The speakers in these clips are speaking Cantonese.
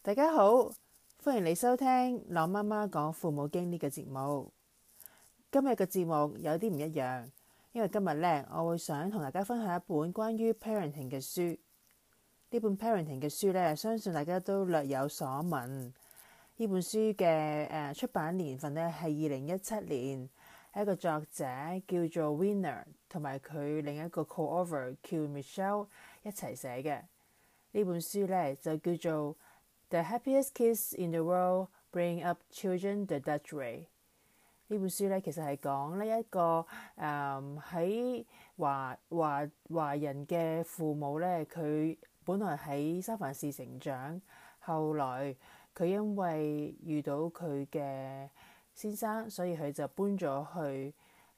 大家好，歡迎你收聽朗媽媽講父母經呢個節目。今日嘅節目有啲唔一樣，因為今日呢，我會想同大家分享一本關於 parenting 嘅書。呢本 parenting 嘅書呢，相信大家都略有所聞。呢本書嘅出版年份呢係2017年，一個作者叫做 Weiner 同埋佢另一個 co-author 叫 Michelle 一齊寫嘅。呢本書呢，就叫做The Happiest Kids in the World Bring Up Children the Dutch Way。呢本書咧其實係講呢一個喺華人嘅父母咧，佢本來喺三藩市成長，後來佢因為遇到佢嘅先生，所以佢就搬咗去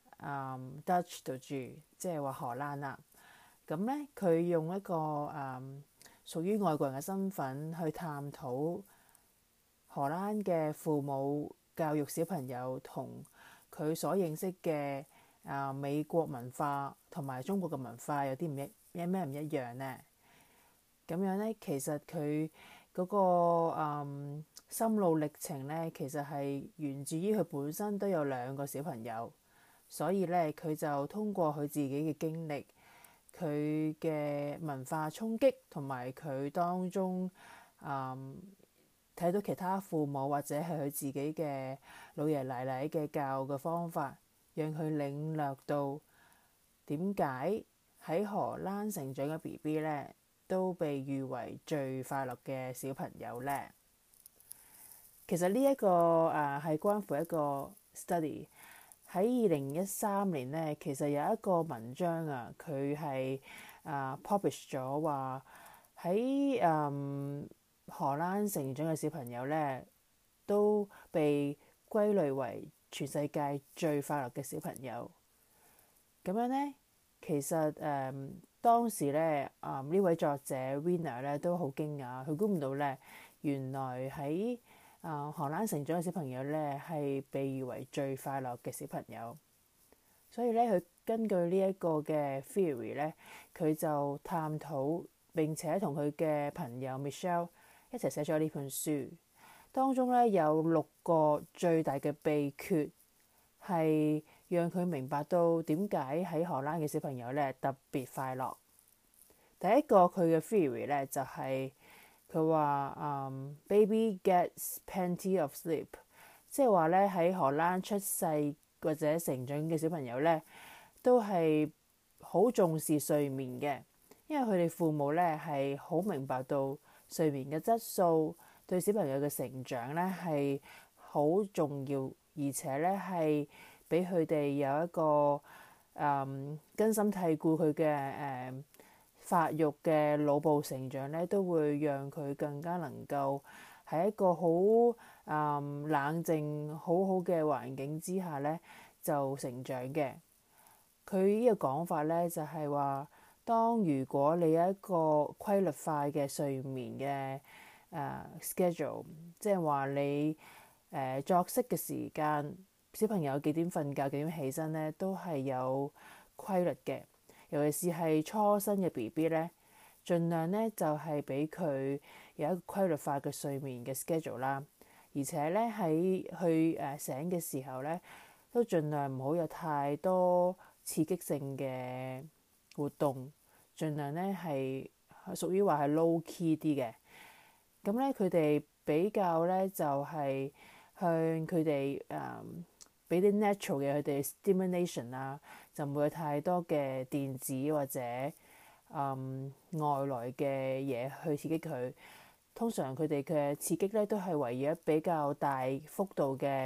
Dutch 度住，即係話荷蘭啦。咁咧佢用一個屬於外國人嘅身份去探討荷蘭嘅父母教育小朋友同佢所認識嘅美國文化同埋中國嘅文化有咩唔一樣呢？咁樣呢，其實佢嗰個心路歷程呢，其實係源自於佢本身都有2個小朋友，所以呢，佢就通過佢自己嘅經歷，佢嘅文化衝擊同埋佢當中睇到其他父母或者係佢自己嘅老爺奶奶嘅教嘅方法，讓佢領略到點解喺荷蘭成長嘅 BB 呢都被譽為最快樂嘅小朋友呢。其實呢一個係關乎一個 study。喺2013年呢，其實有一個文章佢係publish 咗話喺荷蘭成長嘅小朋友呢，都被歸類為全世界最快樂嘅小朋友。咁樣呢，其實當時呢，呢位作者 Weiner 呢都好驚訝，佢估唔到呢，原來喺荷蘭成長嘅小朋友呢係被譽為最快樂嘅小朋友。所以呢，佢根據呢一個嘅 theory 呢，佢就探討並且同佢嘅朋友 Michelle 一齊寫咗呢本書。當中呢，有6個最大嘅秘訣，係讓佢明白到點解喺荷蘭嘅小朋友呢特別快樂。第一個佢嘅 theory 呢，就係佢話baby gets plenty of sleep， 即係話呢，喺荷蘭出世或者成長嘅小朋友呢，都係好重視睡眠嘅，因為佢哋父母呢係好明白到睡眠嘅質素對小朋友嘅成長呢係好重要，而且呢係俾佢哋有一個根深蒂固佢嘅發育嘅腦部成長呢，都會讓佢更加能夠喺一個好冷靜好好嘅環境之下呢就成長嘅。佢呢個講法呢，就係話，如果你有一個規律化嘅睡眠嘅schedule， 即係話你作息嘅時間，小朋友幾點瞓覺幾點起身呢，都係有規律嘅。尤其是係初生嘅 BB 呢，盡量呢就係俾佢有一個規律化嘅睡眠嘅 schedule 啦。而且呢，喺佢醒嘅時候呢，都盡量唔好有太多刺激性嘅活動，盡量呢係屬於話係 low key 啲嘅。咁呢，佢哋比較呢就係向佢哋俾啲 natural 嘅佢哋 stimulation 啦，就唔會有太多嘅電子或者外來嘅嘢去刺激佢。通常佢哋嘅刺激呢都係圍繞比較大幅度嘅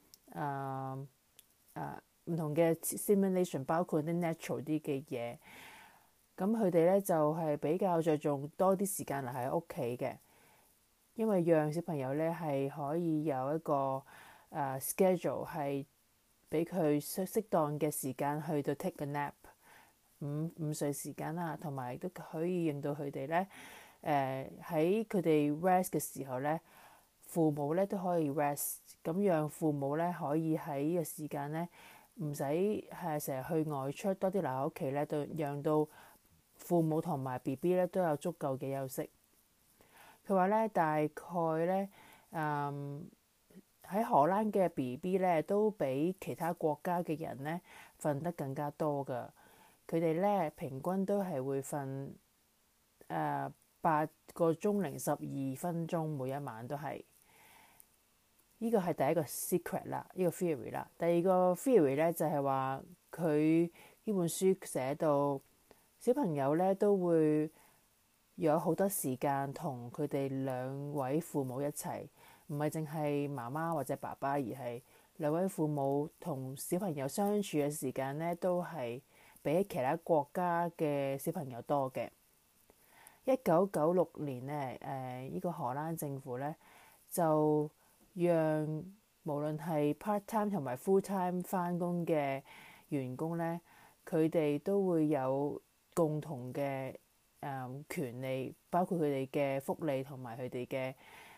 唔同嘅 stimulation， 包括啲 natural 啲嘅嘢。咁佢哋呢就係比較着重多啲時間留喺屋企嘅，因為讓小朋友呢係可以有一個schedule 係俾佢適當嘅時間去到 take a nap， 午睡時間啦，同埋都可以令到佢哋呢喺佢哋 rest 嘅時候呢，父母呢都可以 rest， 咁讓父母呢可以喺呢個時間呢唔使係成日去外出，多啲留喺屋企呢，就讓到父母同埋 BB 呢都有足夠嘅休息。 佢話咧大概咧喺荷蘭嘅 BB 咧都比其他國家嘅人咧瞓得更加多㗎。佢哋咧平均都係會瞓8個鐘零12分鐘每一晚都係。呢個係第一個 secret 啦，呢個 theory 啦。第二個 theory 咧就係話佢呢本書寫到小朋友咧都會有好多時間同佢哋兩位父母一齊，唔係淨係媽媽或者爸爸，而係兩位父母同小朋友相處嘅時間咧都係比其他國家嘅小朋友多嘅。1996年咧，呢個荷蘭政府咧就讓無論係 part time 同埋 full time 返工嘅員工咧，佢哋都會有共同嘅權利，包括佢哋嘅福利同埋佢哋嘅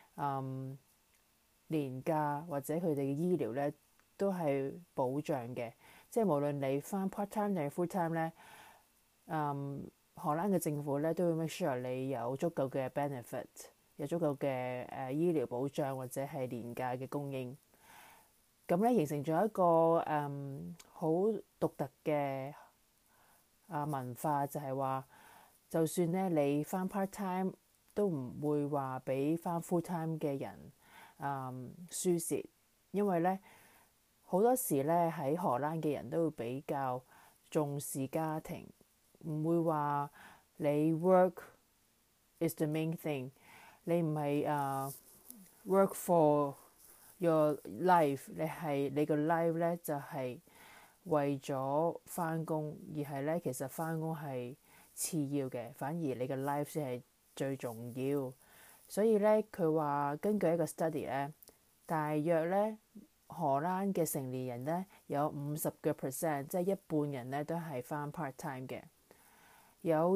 年假或者佢哋嘅醫療咧，都係保障嘅。即係無論你返 part time 定係 full time 咧，荷蘭嘅政府咧都會 make sure 你有足夠嘅 benefit， 有足夠嘅醫療保障或者係年假嘅供應。咁咧形成咗一個好獨特嘅文化，就係話就算咧你返 part time 都唔會話比返 full time 嘅人輸蝕，因為咧好多時咧喺荷蘭嘅人都會比較重視家庭，唔會話你 work is the main thing， 你唔係work for your life， 你個 life 咧就係為咗返工，而係咧其實返工係次要嘅，反而你個 life 先係最重要。所以咧佢話根據一個 study 咧，大約咧荷蘭嘅成年人咧有50%，即係一半人咧都係返 part time 嘅。有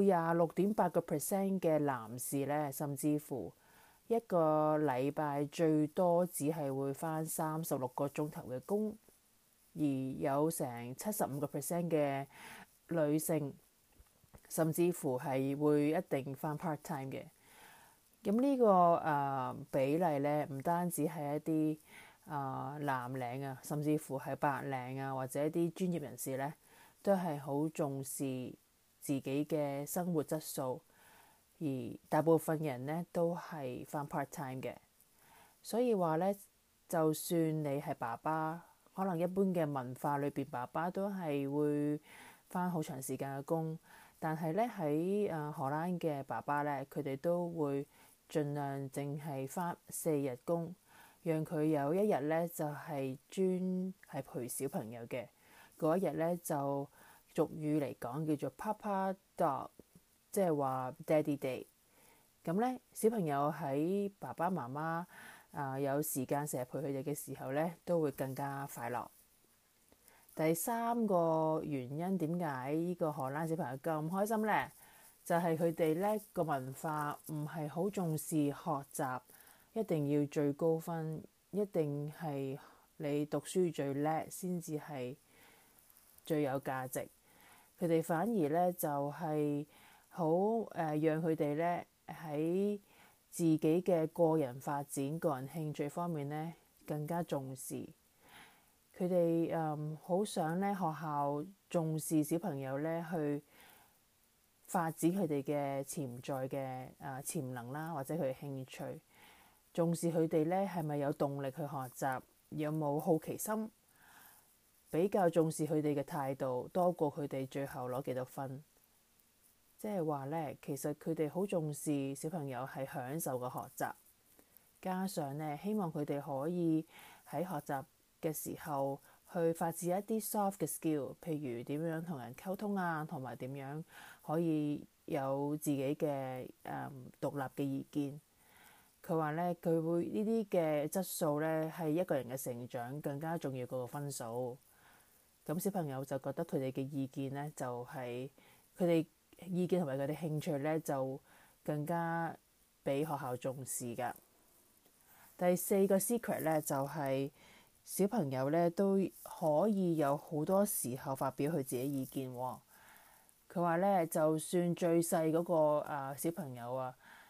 26.8% 嘅男士咧，甚至乎一個禮拜最多只係會返36個鐘頭嘅工，而有成75% 嘅女性，甚至乎係會一定返 part time 嘅。咁呢個比例咧，唔單止係一啲藍領啊，甚至乎係白領啊，或者一啲專業人士咧，都係好重視自己嘅生活質素，而大部分人咧都係返 part time 嘅。所以話咧，就算你係爸爸，可能一般嘅文化裏邊，爸爸都係會返好長時間嘅工，但係咧喺荷蘭嘅爸爸咧，佢哋都會盡量淨係返4日工，讓佢有一日咧就係專係陪小朋友嘅。嗰一日咧就俗語嚟講叫做 Papa Dog， 即係話 Daddy Day。咁咧小朋友喺爸爸媽媽有時間成日陪佢哋嘅時候咧，都會更加快樂。第三個原因點解呢個荷蘭小朋友咁開心咧？就係佢哋咧個文化唔係好重視學習，一定要最高分，一定係你讀書最叻先至係最有價值。佢哋反而咧就係好讓佢哋咧喺自己嘅個人發展、個人興趣方面咧更加重視。佢哋好想咧學校重視小朋友咧去發展佢哋嘅潛在嘅潛能啦，或者佢嘅興趣，重視佢哋咧係咪有動力去學習，有冇好奇心，比較重視佢哋嘅態度多過佢哋最後攞幾多分。即係話咧，其實佢哋好重視小朋友係享受個學習，加上咧希望佢哋可以喺學習嘅時候去發展一啲 soft 嘅 skill， 譬如點樣同人溝通啊，同埋點樣可以有自己嘅獨立嘅意見。佢話咧，佢會呢啲嘅質素咧係一個人嘅成長更加重要過個分數。咁小朋友就覺得佢哋嘅意見咧就係佢哋意見同埋佢哋興趣咧就更加俾學校重視㗎。第四個 secret 咧就係小朋友咧都可以有好多時候發表佢自己意見佢話咧，就算最細嗰個小朋友啊，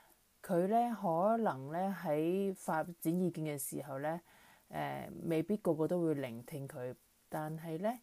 佢咧可能咧喺發展意見嘅時候咧，未必個個都會聆聽佢，但係咧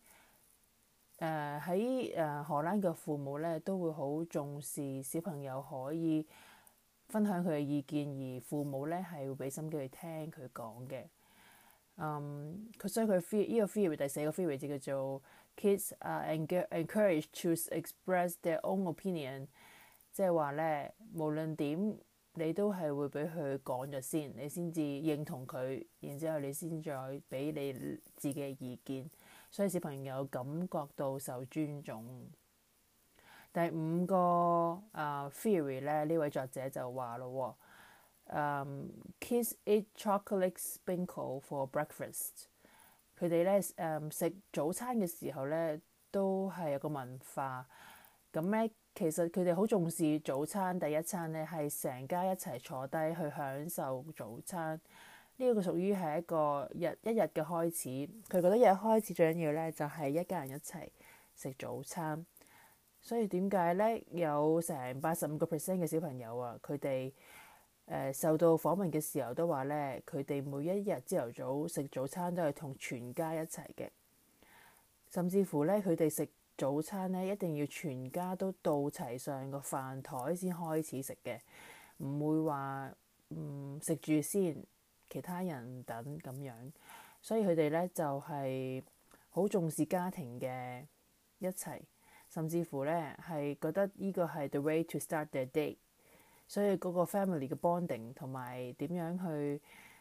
喺荷蘭嘅父母咧都會好重視小朋友可以分享佢嘅意見，而父母咧係會俾心機去聽佢講嘅。所以佢呢個 theory 第四個 theory 就叫做 Kids are encouraged to express their own opinion， 即係話咧無論點你都係會俾佢講咗先，你先至認同佢，然之後你先再俾你自己嘅意見，所以小朋友感覺到受尊重。第五個theory 咧，呢位作者就話咯，Kids eat chocolate sprinkle for breakfast。佢哋咧食早餐嘅時候咧，都係有個文化。咁咧，其實佢哋好重視早餐第一餐咧，係成家一齊坐低去享受早餐。呢一個屬於係一個一日嘅開始。佢覺得一日開始最緊要咧，就係一家人一齊食早餐。所以點解咧有成85% 嘅小朋友啊，佢哋受到訪問嘅時候都話咧，佢哋每一日朝頭早食早餐都係同全家一齊嘅，甚至乎咧佢哋食早餐咧一定要全家都到齊上個飯台先開始食嘅，唔會話食住先，其他人等咁樣。所以佢哋咧就係好重視家庭嘅一齊。甚至乎咧係覺得呢個係 the way to start their day， 所以嗰個 family 嘅 bonding 同埋點樣去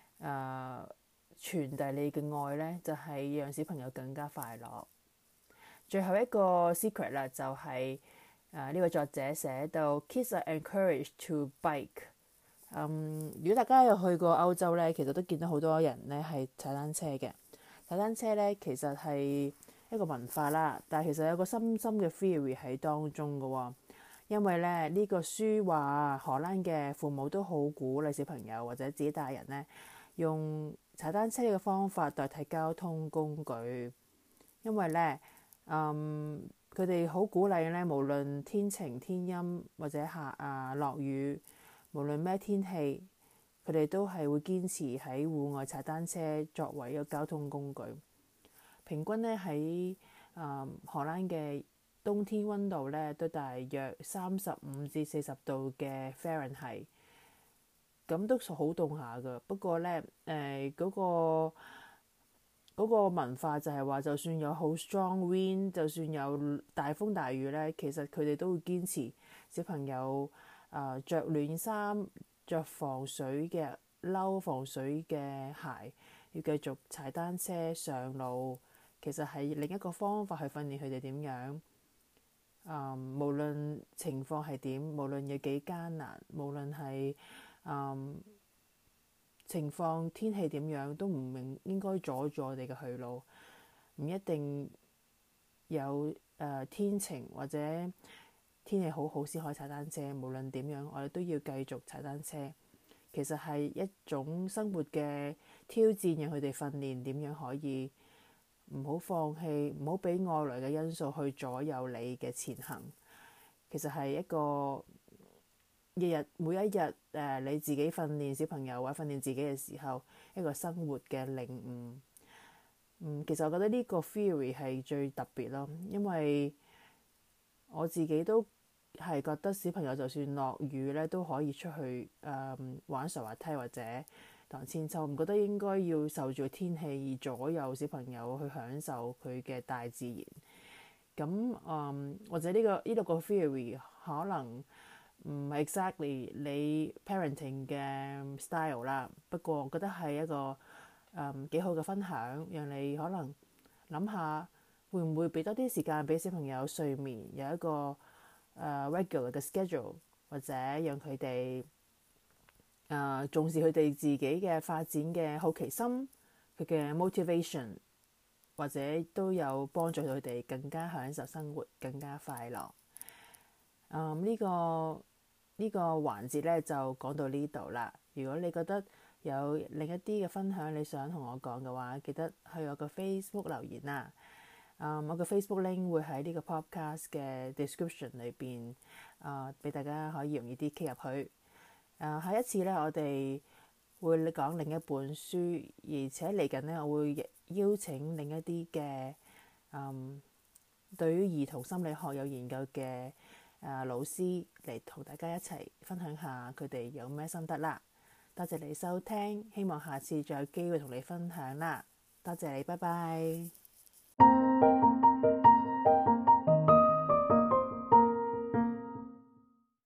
傳遞你嘅愛咧，就係讓小朋友更加快樂。最後一個 secret 啦，就係呢位作者寫到 Kids are encouraged to bike。如果大家有去過歐洲咧，其實都見到好多人咧係踩單車嘅。踩單車咧其實係一個文化啦，但係其實有個深深嘅 theory 喺當中嘅喎。因為咧呢個書話荷蘭嘅父母都好鼓勵小朋友或者自己大人咧用踩單車嘅方法代替交通工具，因為咧佢哋好鼓勵咧，無論天晴天陰或者落雨，無論咩天氣，佢哋都係會堅持喺戶外踩單車作為一個交通工具。平均咧喺荷蘭嘅冬天溫度咧都大約35至40度嘅 Fahrenheit， 咁都好凍下㗎。不過咧嗰個文化就係話，就算有好 strong wind， 就算有大風大雨咧，其實佢哋都會堅持小朋友着暖衫、着防水嘅褸、防水嘅鞋，要繼續踩單車上路。其實係另一個方法去訓練佢哋點樣無論情況係點，無論有幾艱難，無論係情況天氣點樣，都唔應該阻住我哋嘅去路。唔一定有天晴或者天氣好好先可以踩單車，無論點樣我哋都要繼續踩單車。其實係一種生活嘅挑戰，讓佢哋訓練點樣可以唔好放棄，唔好俾外來嘅因素去左右你嘅前行。其實係一個每一日你自己訓練小朋友或者訓練自己嘅時候，一個生活嘅領悟。其實我覺得呢個 theory 係最特別咯，因為我自己都係覺得小朋友就算落雨咧都可以出去玩滑滑梯或者盪千秋，唔覺得應該要受住天氣而左右小朋友去享受佢嘅大自然。咁或者呢六個 theory 可能唔係 exactly 你 parenting 嘅 style 啦，不過我覺得係一個幾好嘅分享，讓你可能諗下會唔會俾多啲時間俾小朋友睡眠，有一個regular 嘅 schedule， 或者讓佢哋重視佢哋自己嘅發展嘅好奇心，佢嘅 motivation， 或者都有幫助佢哋更加享受生活，更加快樂。呢個環節咧就講到呢度啦。如果你覺得有另一啲嘅分享你想同我講嘅話，記得去我個 Facebook 留言啦。我個 Facebook link 會喺呢個 podcast 嘅 description 裏邊，俾大家可以容易啲 click 入去。 下一次呢，我哋會講另一本書，而且嚟緊呢，我會邀請另一啲嘅對於兒童心理學有研究嘅老師嚟同大家一齊分享下佢哋有咩心得啦。多謝你收聽，希望下次再有機會同你分享啦。多謝你，拜拜。